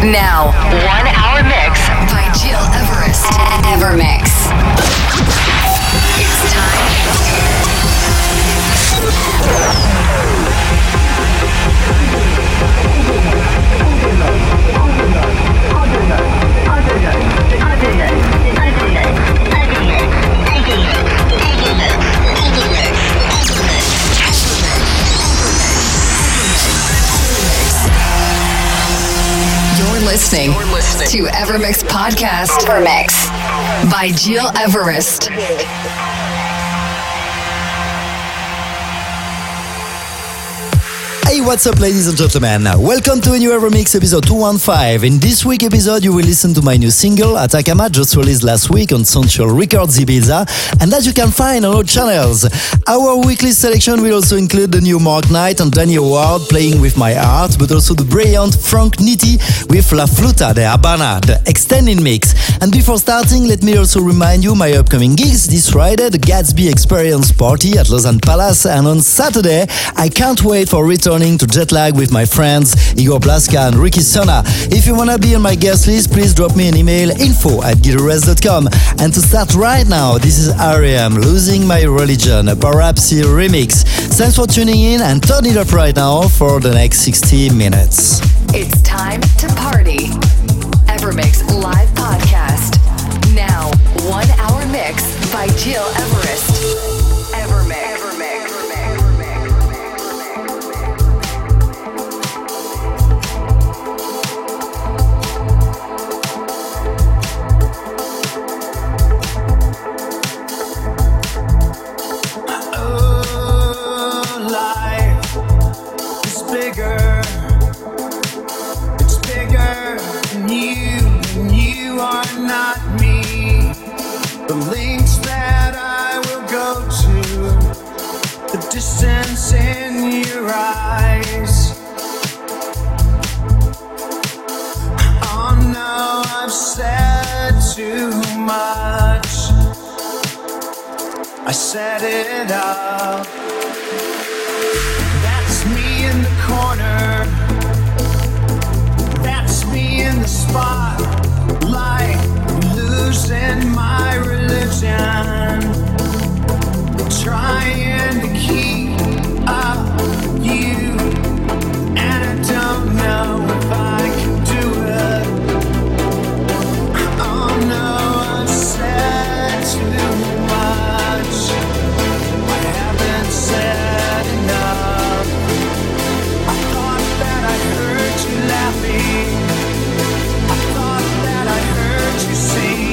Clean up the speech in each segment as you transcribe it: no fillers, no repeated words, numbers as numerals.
Now, 1 hour mix by Gil Everest. Evermix. It's time. You're listening to Evermix Podcast. Evermix by Gil Everest. Hey, what's up, ladies and gentlemen? Welcome to a new Evermix episode 215. In this week's episode, you will listen to my new single, Atacama, just released last week on Central Records Ibiza, and that you can find on all channels. Our weekly selection will also include the new Mark Knight and Danny Howard playing with my art, but also the brilliant Frank Nitti with La Fluta de Habana, the extended mix. And before starting, let me also remind you my upcoming gigs this Friday, the Gatsby Experience Party at Lausanne Palace, and on Saturday, I can't wait for returning to Jetlag with my friends Igor Blaska and Ricky Sona. If you wanna be on my guest list, please drop me an email, info@guitarist.com. And to start right now, this is R.E.M. Losing My Religion, a Parapsy remix. Thanks for tuning in and turn it up right now for the next 60 minutes. It's time to party. Evermix live podcast. Now, 1 hour mix by Gil Everest. Evermix. Distance in your eyes. Oh no, I've said too much. I set it up. That's me in the corner. That's me in the spotlight, losing my religion. Trying to keep up with you, and I don't know if I can do it. Oh no, I've said too much. I haven't said enough. I thought that I heard you laughing. I thought that I heard you sing.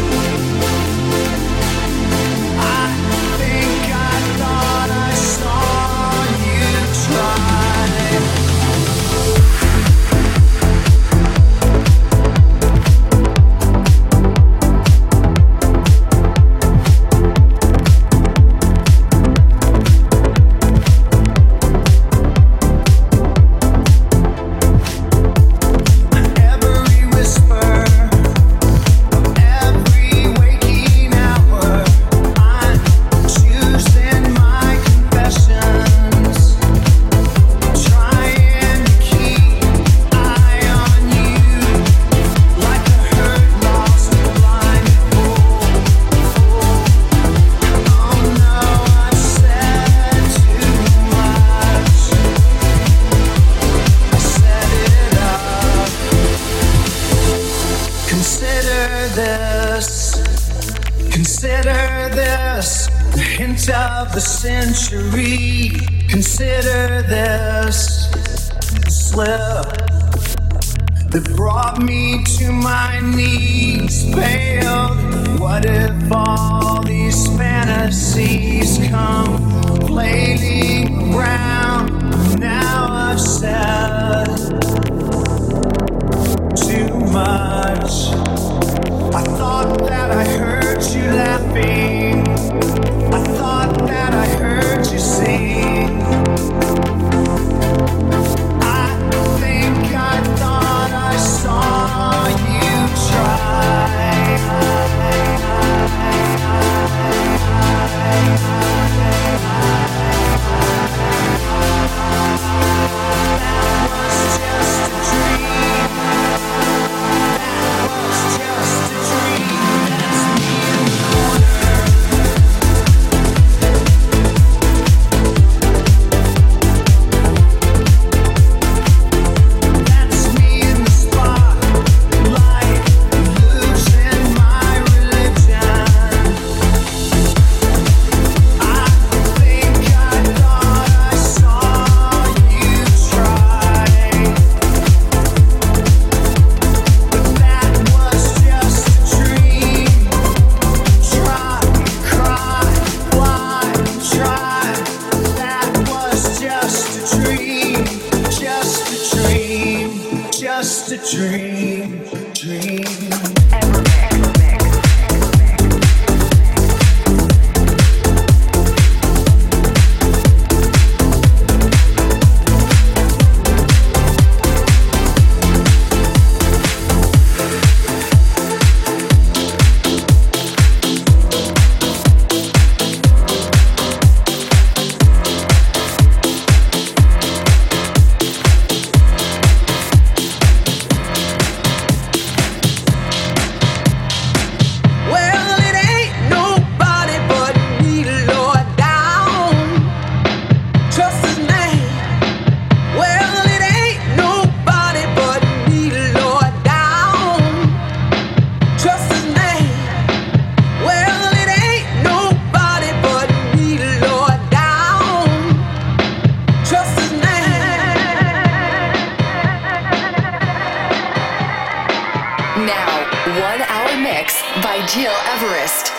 Of the century, consider this slip that brought me to my knees, failed. What if all these fantasies come flailing around? Now I've said too much. I thought that I heard you laughing. I thought that I heard you sing. I think I thought I saw you try. just a dream, dream. Gil Everest.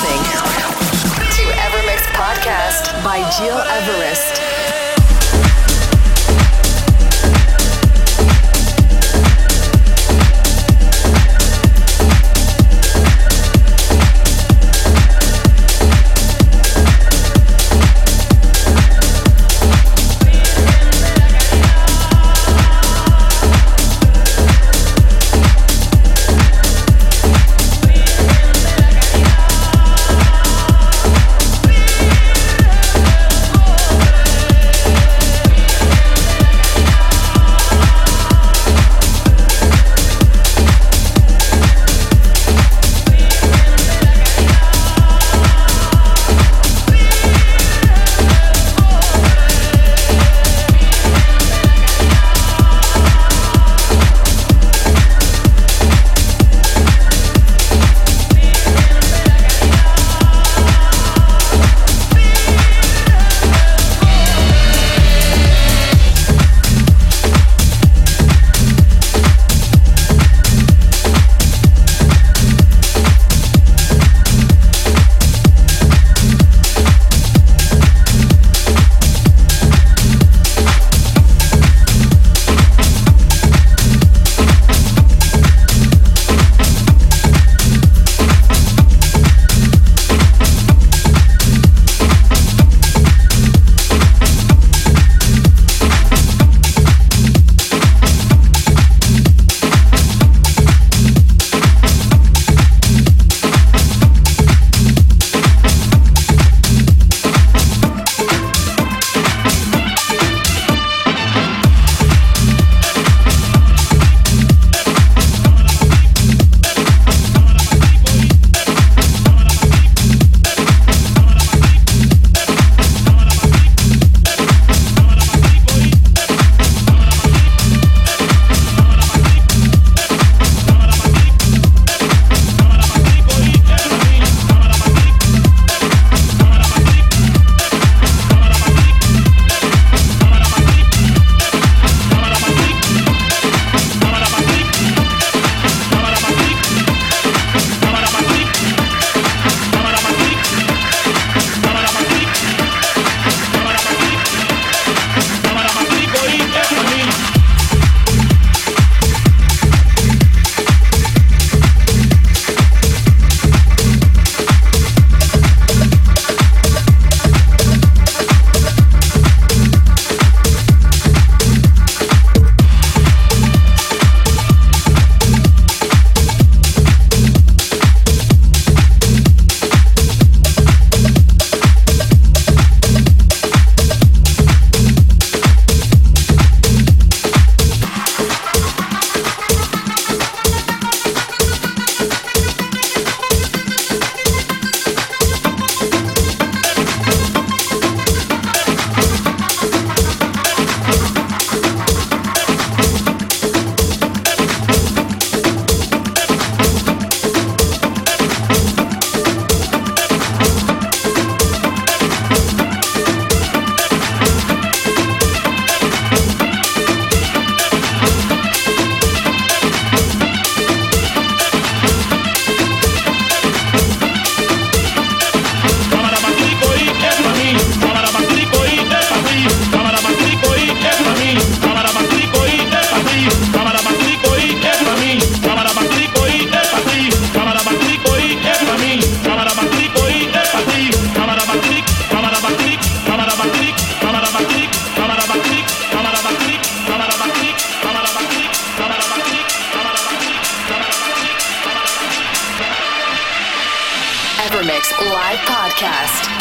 listening to Evermix Podcast by Gil Everest. Evermix Live Podcast.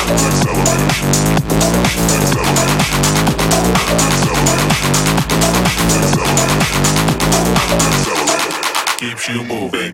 Keeps you moving.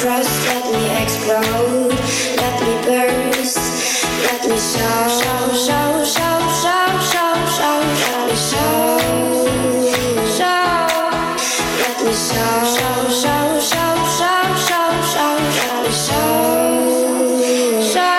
trust, let me explode, let me burst, let me show, show, show, show, show, show, show, let me show, show, let me show, show, show, show, show, show, show, let me show, show.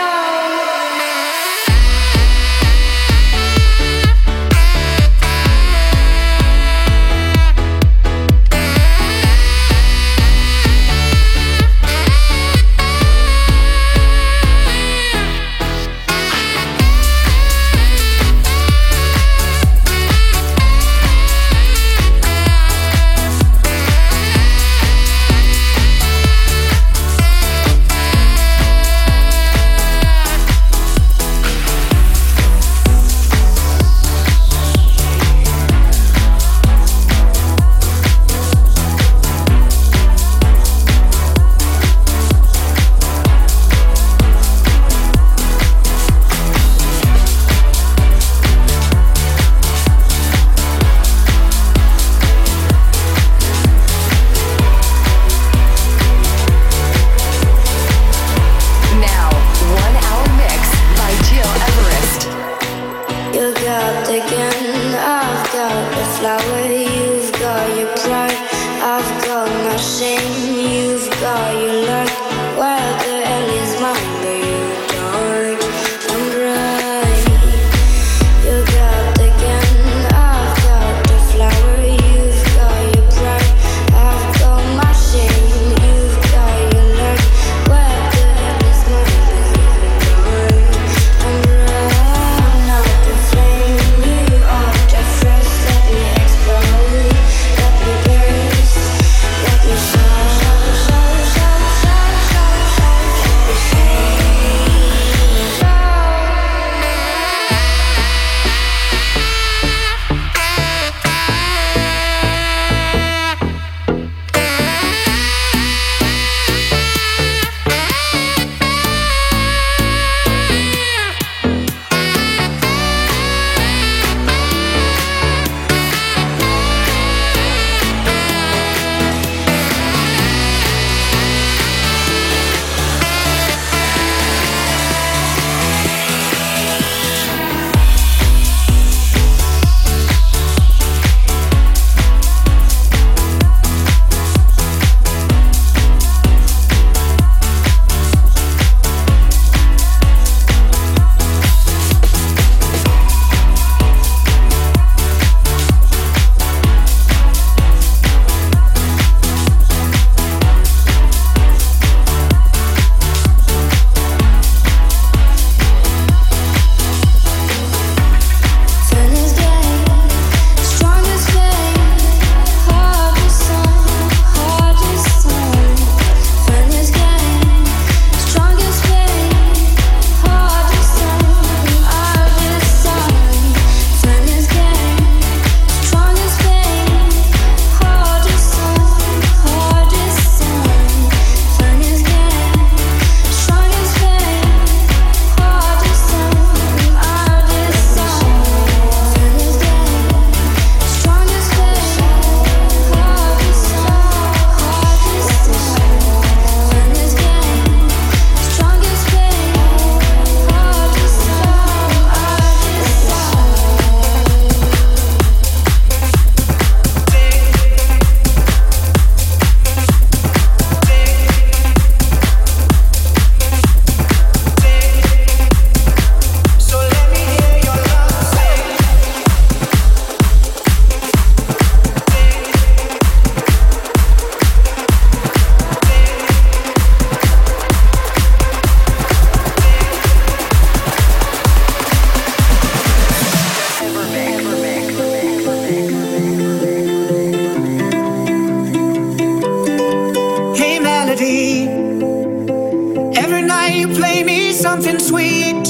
something sweet.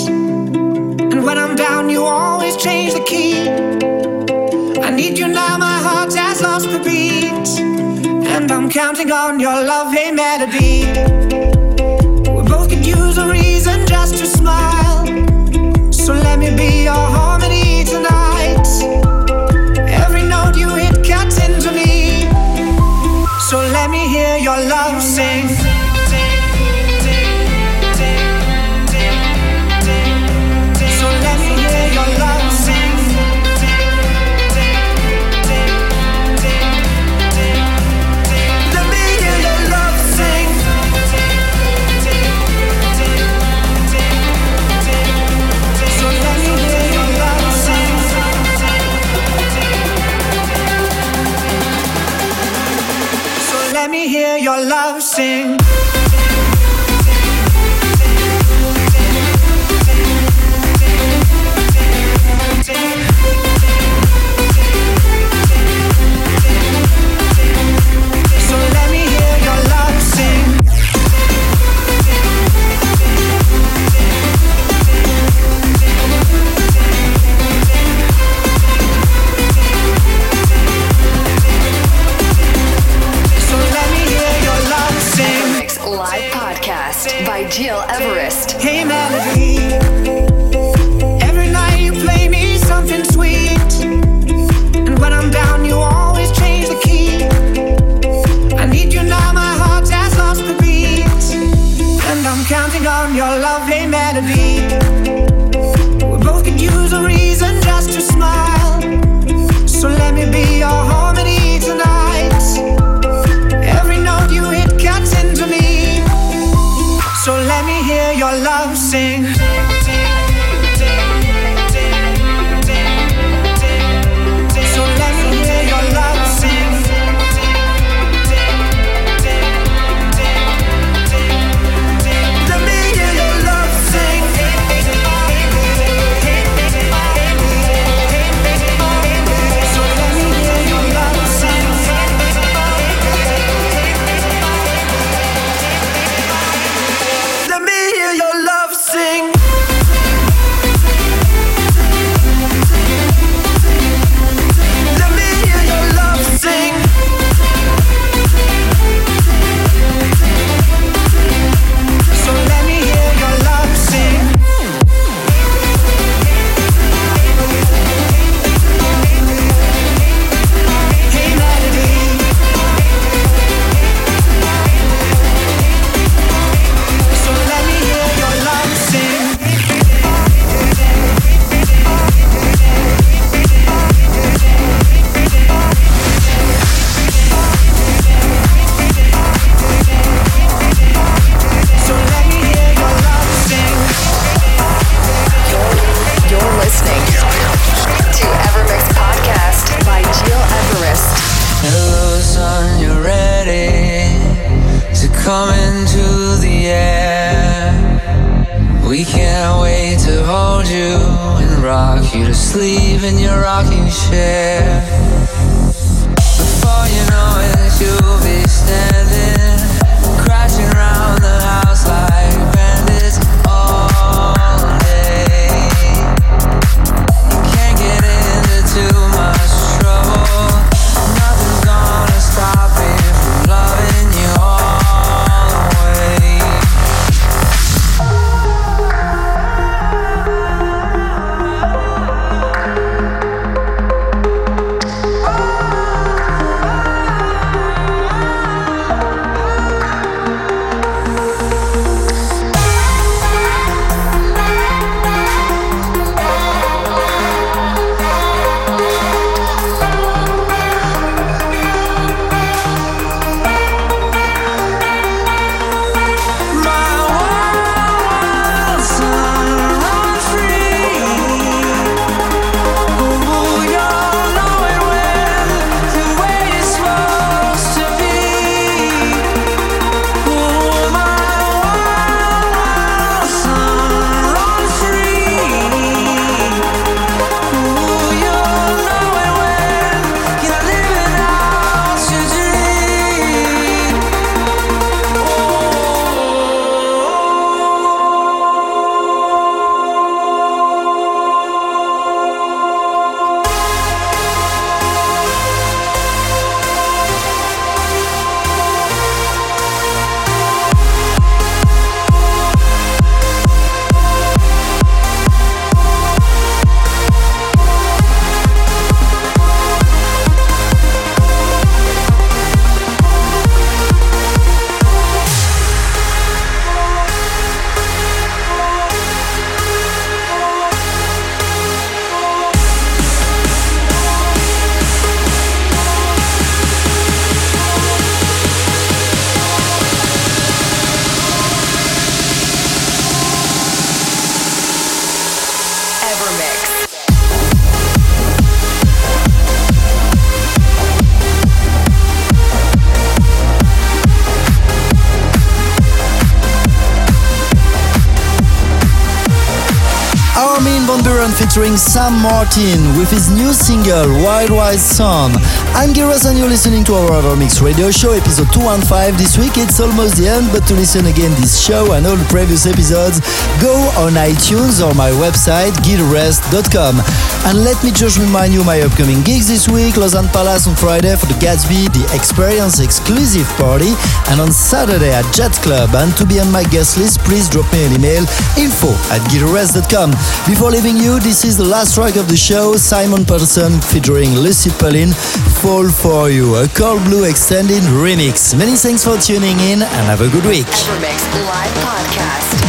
And when I'm down, you always change the key. I need you now, my heart has lost the beat. And I'm counting on your love, hey melody. We both could use a reason just to smile. So let me be your harmony tonight. Every note you hit cuts into me. So let me hear your love sing. sing. So let me hear your love sing. So let me hear your love sing. Mix Live Podcast by Jill Everest. Hey melody, every night you play me something sweet, and when I'm down you always change the key. I need you now, my heart has lost the beat, and I'm counting on your love. Hey melody, we both could use a reason just to smile, so let me be your harmony tonight. Every note you hit cuts into me, so let me hear your love sing. So let me hear your love sing. Let me hear your love sing. So let me hear your love sing. Let me hear your love sing. Let me hear your love sing. So let me hear your love sing. Hey melody, so let me hear your love sing. So let me hear your love sing. You're listening to Evermix Podcast by Jill Everest. Hello, son, you're ready to come into the air. We can't wait to hold you and rock you to sleep in your rocking chair. Before you know it, you'll be standing, crashing around the house like bandits all day. You can't get into too much trouble. Nothing's gonna stop me from loving you all the way. featuring Sam Martin with his new single Wild Wild Son. I'm Giras and you're listening to our Evermix radio show, episode 215. This week it's almost the end, but to listen again this show and all the previous episodes, go on iTunes or my website, gileverest.com. And let me just remind you my upcoming gigs this week: Lausanne Palace on Friday for the Gatsby, the Experience exclusive party, and on Saturday at Jet Club. And to be on my guest list, please drop me an email, info@gileverest.com. Before leaving you, this is the last track of the show, Simon Patterson featuring Lucy Pauline, Fall For You, a Cold Blue extended remix. Many thanks for tuning in and have a good week. Evermix Live Podcast.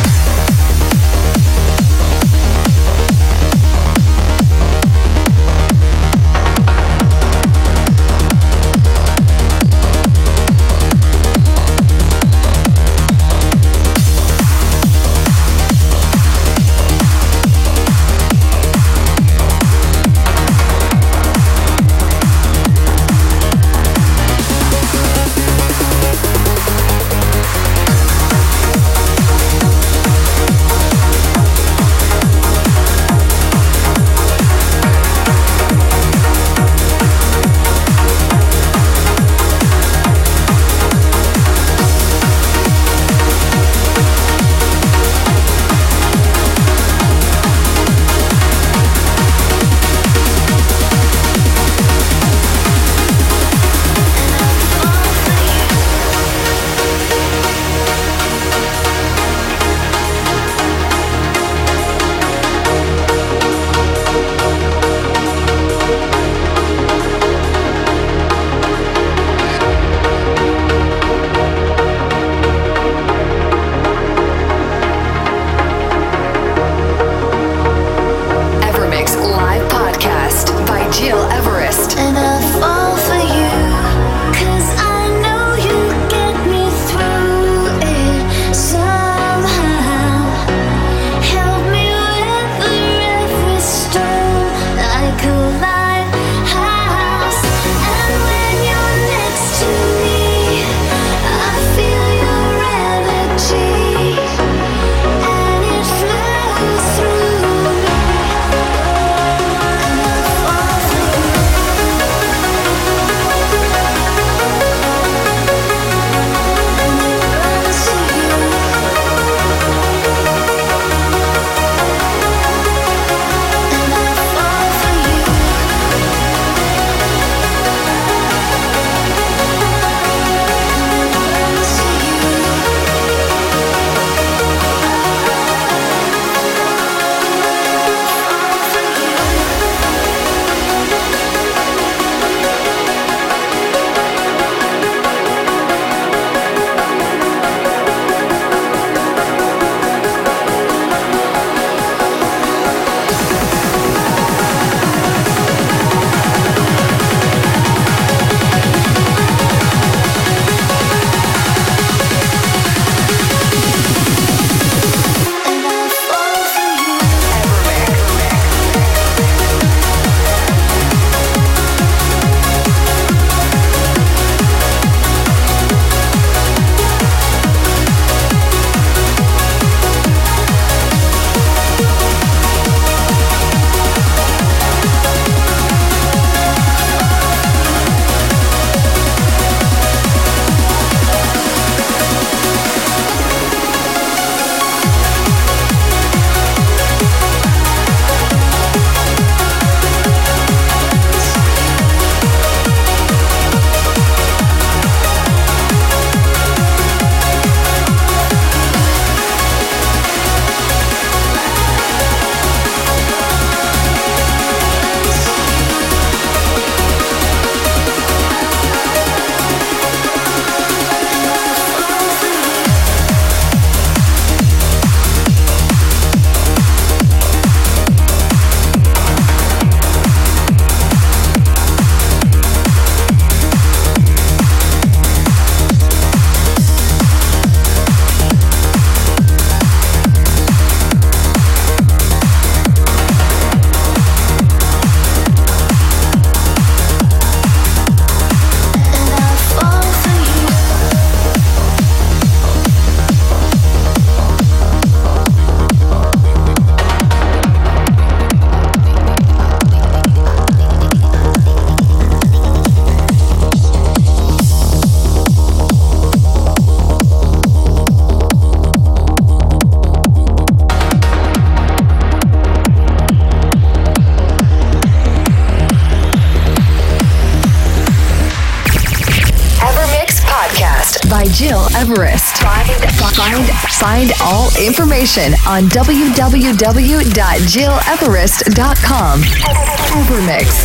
by Jill Everest. Find all information on www.jilleverest.com. Evermix.